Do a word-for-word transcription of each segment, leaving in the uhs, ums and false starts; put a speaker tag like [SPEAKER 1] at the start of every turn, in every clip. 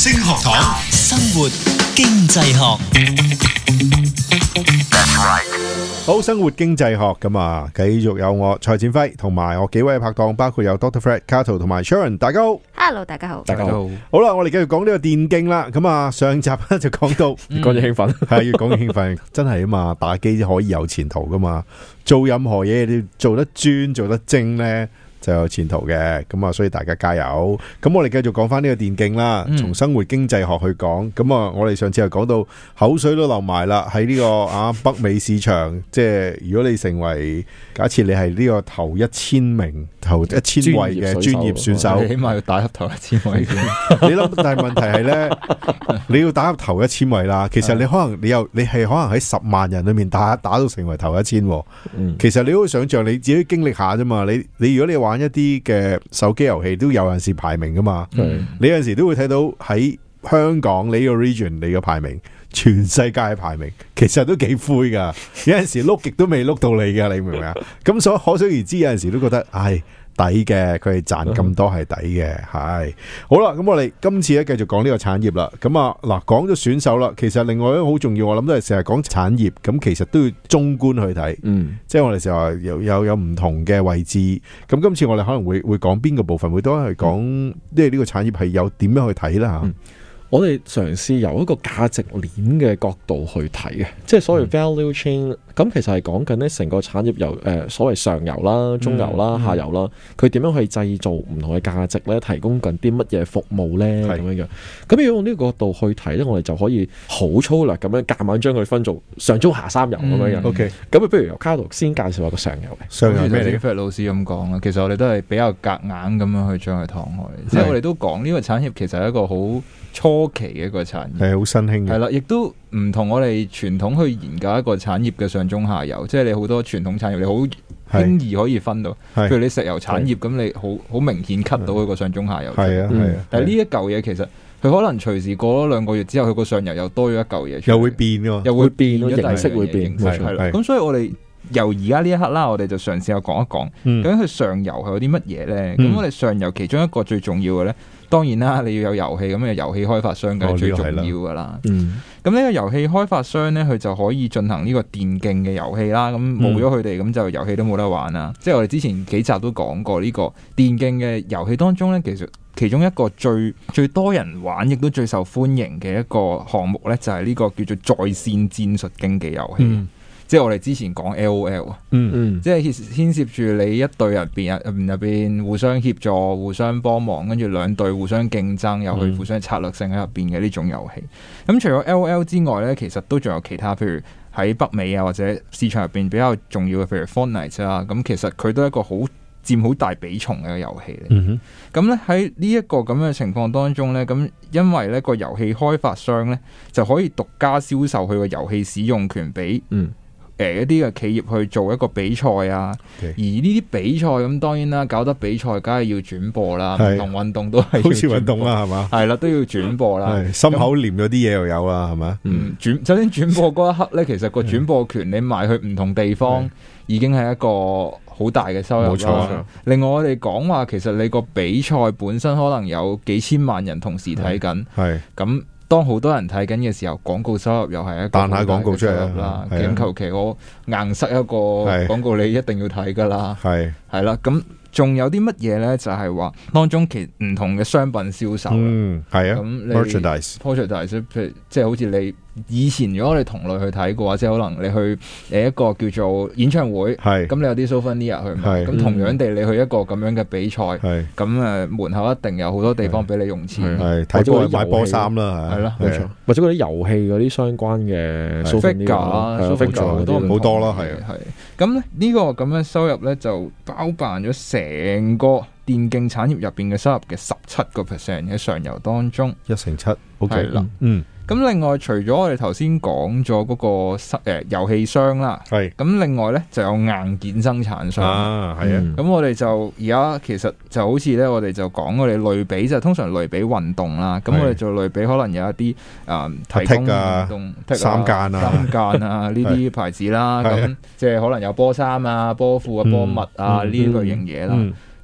[SPEAKER 1] 星學堂，生活經濟學。
[SPEAKER 2] 好，生活經濟學咁啊，繼續有我蔡展輝同埋我幾位拍檔，包括有 Doctor Fred、Cato 同埋 Sharon， 大家好。
[SPEAKER 3] Hello， 大家好，
[SPEAKER 2] 大家好。好啦，我哋繼續講呢個電競啦。咁啊，上集咧就講到
[SPEAKER 4] 越講越興奮，
[SPEAKER 2] 係越講越興奮，真係啊嘛，打機可以有前途噶嘛，做任何嘢你做得專做得精咧，就有前途嘅，咁啊，所以大家加油。咁我哋繼續講翻呢個電競啦，從生活經濟學去講。咁啊，我哋上次又講到口水都流埋啦，喺呢個啊北美市場，即係如果你成為假設你係呢個頭一千名頭一千位嘅專業選手，
[SPEAKER 4] 你起碼要打入頭一千位先。
[SPEAKER 2] 你諗，但係問題係咧，你要打入頭一千位啦。其實你可能你又你係可能喺十萬人裏面打打到成為頭一千。其實你可以想象你自己經歷下啫嘛。你你如果你玩一啲嘅手機遊戲都有陣時排名噶嘛，嗯、你有陣時都會睇到喺香港你個 region 你個排名，全世界嘅排名其實都幾灰噶，有陣時碌極都未碌到你噶，你明唔明啊？咁所以可想而知，有陣時都覺得唉抵嘅，佢哋賺咁多係抵嘅，係好啦。咁我哋今次咧繼續講呢個產業啦。咁啊嗱，講咗選手啦，其實另外一個好重要，我諗都係成日講產業，咁其實都要綜觀去睇，嗯，即係我哋成日話有有有唔同嘅位置。咁今次我哋可能會會講邊個部分，會多係講即係呢個產業係有點樣去睇啦吓。
[SPEAKER 4] 嗯我哋嘗試由一個價值鏈嘅角度去睇嘅，即係所謂 value chain，咁、嗯、其實係講緊呢成個產業由誒、呃、所謂上游啦、中游啦、嗯、下游啦，佢點樣去製造唔同嘅價值咧，提供緊啲乜嘢服務咧咁樣樣。咁如果用呢個角度去睇咧，我哋就可以好粗略咁樣夾硬將佢分做上中下三游咁樣樣。OK，咁啊，不如由卡圖先介紹下個上游嘅。上游咩嚟？Fred 老師咁講啦，其實我哋都係比較夾硬咁樣去將佢趟開，即係我哋都講呢個產業其實係一個好初期嘅一個產業，係好新興嘅，係啦，亦都唔同我哋傳統去研究一個產業嘅上中下游，即係你好多傳統產業你好輕易可以分到，譬如你石油產業咁，你好好明顯 cut 到佢個上中下游，係啊係啊，但係呢一嚿嘢其實佢可能隨時過咗兩個月之後，佢個上游又多咗一嚿嘢，又會變㗎，又會變，形式會變，係啦，咁所以我哋由而家呢一刻啦，我哋就嘗試下講一講，究竟佢上游係有啲乜嘢咧？咁我哋上游其中一個最重要嘅咧。當然啦，你要有遊戲，咁嘅遊戲開發商梗係最重要噶啦。咁呢、嗯、個遊戲開發商咧，佢就可以進行呢個電競嘅遊戲啦。咁冇咗佢哋，咁就遊戲都冇得玩啦。嗯、即係我哋之前幾集都講過，呢個電競嘅遊戲當中咧，其實其中一個最最多人玩，亦都最受歡迎嘅一個項目咧，就係、是、呢個叫做在線戰術競技遊戲。嗯即係我哋之前講 L O L 啊，嗯嗯，即係牽涉住你一隊入邊入入邊互相協助、互相幫忙，跟住兩隊互相競爭，又去互相策略性喺入邊嘅呢種遊戲。咁、嗯、除咗 L O L 之外咧，其實都仲有其他，譬如喺北美啊或者市場入邊比較重要嘅，譬如 Fortnite 啊，咁其實佢都係一個好佔好大比重嘅遊戲嚟。咁咧喺呢一個咁嘅情況當中咧，咁因為咧個遊戲開發商咧就可以獨家銷售佢個遊戲使用權俾嗯。誒、呃、一啲嘅企業去做一個比賽啊，Okay. 而呢啲比賽咁當然啦，搞得比賽梗係要轉播啦，唔同運動都係好似運動啦，係嘛？係啦，都要轉播啦。心口黏咗啲嘢又有啦，係嘛？嗯，轉首先轉播嗰一刻咧，其實個轉播權你賣去唔同地方，已經係一個好大嘅收入。冇錯。另外我哋講話，其實你個比賽本身可能有幾千萬人同時睇緊，係咁。當好多人睇緊嘅時候，廣告收入又係一個彈下廣告出嚟啦。咁求其我硬塞一個廣告，你一定要睇噶啦。係係啦，咁仲有啲乜嘢咧？就係、是、話當中其唔同嘅商品銷售。嗯，係啊。咁 merchandise，merchandise，譬如即係好似你。以前如果我哋同類去睇嘅話，即係可能你去誒一個叫做演唱會，咁你有啲 souvenir 去買，咁同樣地你去一個咁樣嘅比賽，咁誒門口一定有好多地方俾你用錢，或者買波衫啦，係咯，冇錯，或者嗰啲遊戲嗰啲相關嘅 souvenir 都好多啦，係係。咁咧呢個咁嘅收入咧就包辦咗成個電競產業入邊嘅收入嘅十七個 percent 喺上游當中，一成七 ，OK 啦，嗯。咁另外除咗我哋頭先講咗嗰個誒遊戲商啦，係咁另外咧就有硬件生產商啊，係啊。咁、嗯、我哋就而家其實就好似咧，我哋就講我哋類比就通常類比運動啦。咁我哋做類比可能有一啲誒、呃、提供運動、啊、三間啊、三間啊呢啲牌子啦。咁即係可能有波衫啊、波褲啊、波襪啊呢、嗯、類型嘢啦。咁、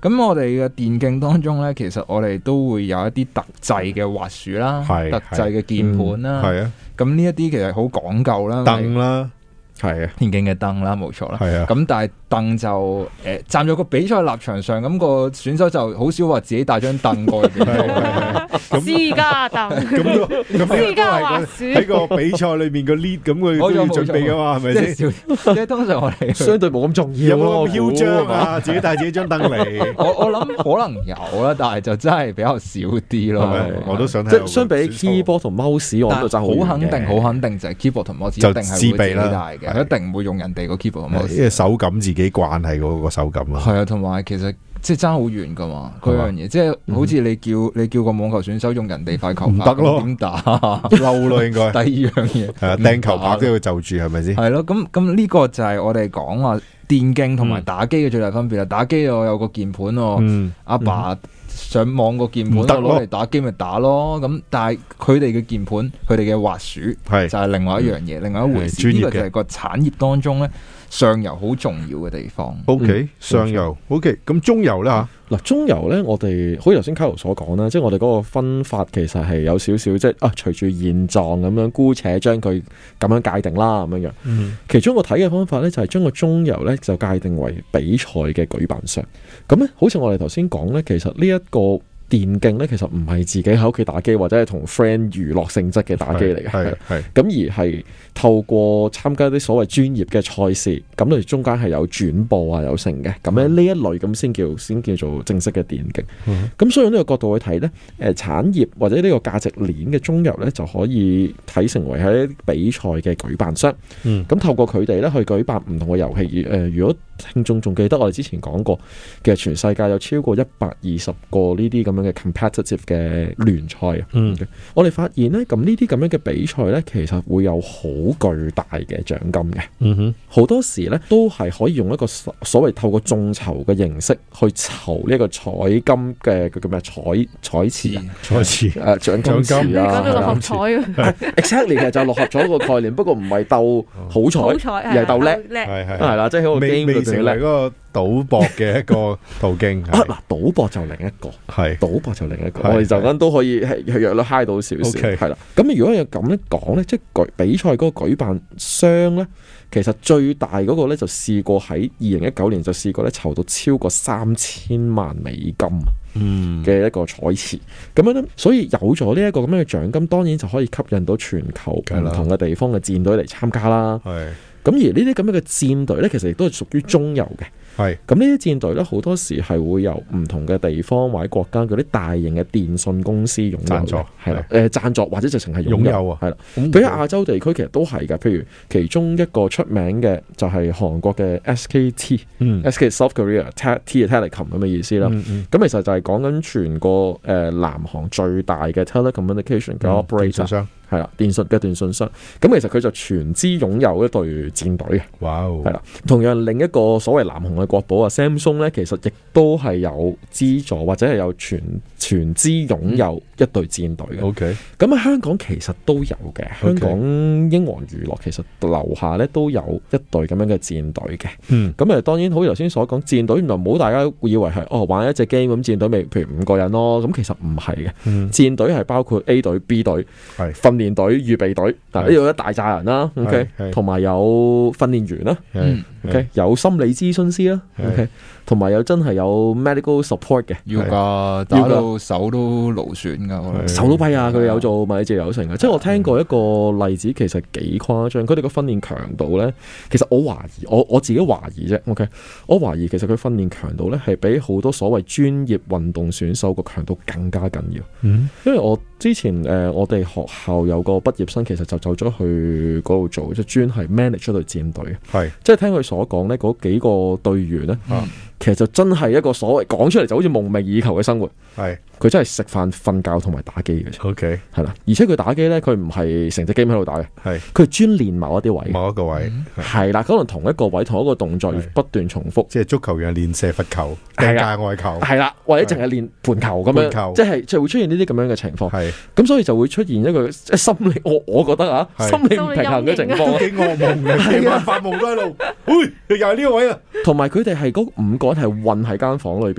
[SPEAKER 3] 咁我哋嘅電競當中咧，其實我哋都會有一啲特製嘅滑鼠啦，特製嘅鍵盤啦，係啊。咁呢一啲其實好講究啦，
[SPEAKER 2] 凳啦。係啊，
[SPEAKER 3] 電競嘅凳啦，冇錯啦。
[SPEAKER 2] 係啊，
[SPEAKER 3] 咁但係凳就誒、呃、站咗個比賽立場上，咁、那個選手就好少話自己帶張凳過去。
[SPEAKER 5] 私家凳，
[SPEAKER 2] 咁私
[SPEAKER 5] 家滑鼠
[SPEAKER 2] 喺個比賽裏面個 lead 咁佢都要準備噶嘛，係咪先？
[SPEAKER 3] 即係通常我哋
[SPEAKER 4] 相對冇咁重要咯，
[SPEAKER 2] 囂張啊，自己帶自己張凳嚟。
[SPEAKER 3] 我我諗可能有啦，但係就真係比較少啲咯。
[SPEAKER 2] 我都想睇。
[SPEAKER 4] 即係相比 keyboard 同 mouse，我都爭
[SPEAKER 3] 好肯定，好肯定就係 keyboard 同 mouse 一定係會自己帶嘅。一定唔會用人哋個 keyboard 同 mouse，
[SPEAKER 2] 因為手感自己慣係嗰個手感啊。
[SPEAKER 3] 係啊，同埋其實即係爭好遠噶嘛，嗰樣嘢，即係好似你叫你叫個網球選手用人哋塊球拍，
[SPEAKER 2] 唔得咯，
[SPEAKER 3] 點打
[SPEAKER 2] 嬲咯，應該。
[SPEAKER 3] 第二樣嘢
[SPEAKER 2] 係啊，掟球拍都要就住，係咪先？
[SPEAKER 3] 係咯，咁咁呢個就係我哋講話電競同埋打機嘅最大分別啦。打機我有個鍵盤喎，阿爸上網個鍵盤攞嚟打機咪打咯。咁但係佢哋嘅鍵盤，佢哋嘅滑鼠係就係另外一樣嘢，另外一回事。呢個就係個產業當中咧，上游好重要嘅地方。
[SPEAKER 2] O K，上游 O K，咁中游咧吓。
[SPEAKER 4] 嗱，中游咧，我哋好似頭先卡羅所講啦，即係我哋嗰個分法其實係有少少，即係啊，隨住現狀咁樣，姑且將佢咁樣界定啦，咁樣樣。嗯、其中一個睇嘅方法咧，就係將個中游咧就界定為比賽嘅舉辦商。咁咧，好似我哋頭先講咧，其實呢一個電競咧，其實唔係自己喺屋企打機，或者係同 friend 娛樂性質嘅打機嚟嘅，係係咁而係透過參加啲所謂專業嘅賽事，咁佢中間係有轉播啊，有成嘅，咁咧呢一類咁先叫先叫做正式嘅電競。咁、嗯、所以呢個角度去睇咧，誒產業或者呢個價值鏈嘅中游咧，就可以睇成為係一啲比賽嘅舉辦商。咁、嗯、透過佢哋咧去舉辦唔同嘅遊戲。誒、呃，如果聽眾仲記得我哋之前講過，其實全世界有超過一百二十個呢啲咁樣嘅 competitive 嘅聯賽啊。嗯，我哋發現咧，咁呢啲咁樣嘅比賽咧，其實會有好巨大嘅獎金嘅。嗯哼，好多時咧都係可以用一個所謂透過眾籌嘅形式去籌呢一個彩金嘅叫咩彩彩池啊，彩池誒獎金池啊，
[SPEAKER 5] 講到六合彩啊
[SPEAKER 4] ，exactly 其實就係六合彩個概念，不過唔係鬥好彩，而係鬥叻，係係係啦，即係喺個 game 裏邊成為嗰個
[SPEAKER 2] 賭博嘅一個途徑
[SPEAKER 4] 啊！嗱，賭博就另一個，係賭博就另一個，我哋就咁都可以係係約到嗨到少少，係啦。咁如果有咁樣講咧，即係舉比賽嗰個舉辦商咧，其實最大嗰個咧就試過喺二零一九年就試過咧籌到超過三千萬美金嗯嘅一個彩池，咁樣咧，所以有咗呢一個咁樣嘅獎金，當然就可以吸引到全球唔同嘅地方嘅戰隊嚟參加啦。係咁而呢啲咁樣嘅戰隊咧，其實亦都係屬於中游嘅。係咁呢啲戰隊咧，好多時係會由唔同嘅地方或者國家嗰啲大型嘅電信公司擁有嘅，係啦，誒贊助或者直情係擁有啊，係啦。譬如亞洲地區其實都係㗎，譬如其中一個出名嘅就係韓國嘅 S K T，S K South Korea T 係 Telecom 咁嘅意思啦。咁其實就係講緊全個誒南韓最大嘅 telecommunication 嘅 operator。係啦，電信嘅電信商，咁其實佢就全資擁有一隊戰隊嘅。哇、wow. 係啦，同樣另一個所謂南韓嘅國寶啊 Samsung 咧，其實亦都係有資助或者係有全全資擁有一隊戰隊嘅。OK，咁喺香港其實都有嘅。香港英皇娛樂其實樓下咧都有一隊咁樣嘅戰隊嘅。嗯，咁誒當然好似頭先所講，戰隊原來唔好大家以為係哦玩一隻 game 咁，戰隊咪譬如五個人咯，咁其實唔係嘅。嗯、戰隊係包括 A 隊、B 隊係訓練隊、預備隊，嗱呢度一大扎人啦 ，OK， 同埋有訓練員啦 ，OK， 有心理諮詢師啦 ，OK， 同埋有真係有 medical support 嘅，
[SPEAKER 3] 要噶，打到手都勞損噶，
[SPEAKER 4] 手都跛啊！佢哋有做物理治療成嘅，即係我聽過一個例子，其實幾誇張。佢哋個訓練強度咧，其實我懷疑，我我自己懷疑啫，OK， 我懷疑其實佢訓練強度咧係比好多所謂專業運動選手個強度更加緊要。嗯，因為我之前誒、呃，我哋學校有個畢業生，其實就走咗去嗰度做，即係專係 manage 出隊戰隊。係，即係聽佢所講咧，嗰幾個隊員咧。嗯其實就真係一個所謂講出嚟就好似夢寐以求嘅生活，係佢真係食飯、瞓覺同埋打機嘅。OK， 係啦，而且佢打機咧，佢唔係成隻 game 喺度打嘅，係佢專練某一啲位，某一個位係啦，可能同一個位、同一個動作不斷重複，即係足球樣練射罰球、掟界外球，係啦，或者淨係練盤球咁樣，即係即係會出現呢啲咁樣嘅情況。係咁，所以就會出現一個即係心理，我我覺得啊，心理唔平衡嘅情況，都幾噩夢嘅，夜晚發夢都喺度，喂，又係呢個位啊！同埋佢哋係嗰五個。係混喺間房裏邊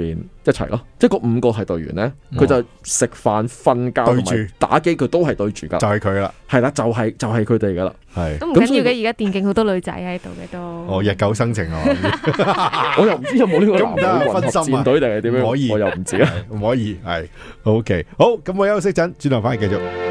[SPEAKER 4] 一齊咯，即係嗰五個係隊員咧，佢就食飯、瞓覺同埋打機，佢都係對住噶，
[SPEAKER 2] 就係佢啦，
[SPEAKER 4] 係啦，就係就係佢哋噶啦，係
[SPEAKER 5] 都唔緊要嘅。而家電競好多女仔喺度嘅都，
[SPEAKER 2] 哦，日久生情啊，
[SPEAKER 4] 我又唔知有冇呢個男女混合戰隊定係點樣，
[SPEAKER 2] 可以，
[SPEAKER 4] 我又唔知啊，
[SPEAKER 2] 唔可以係 OK。好，咁我休息陣，轉頭翻嚟繼續。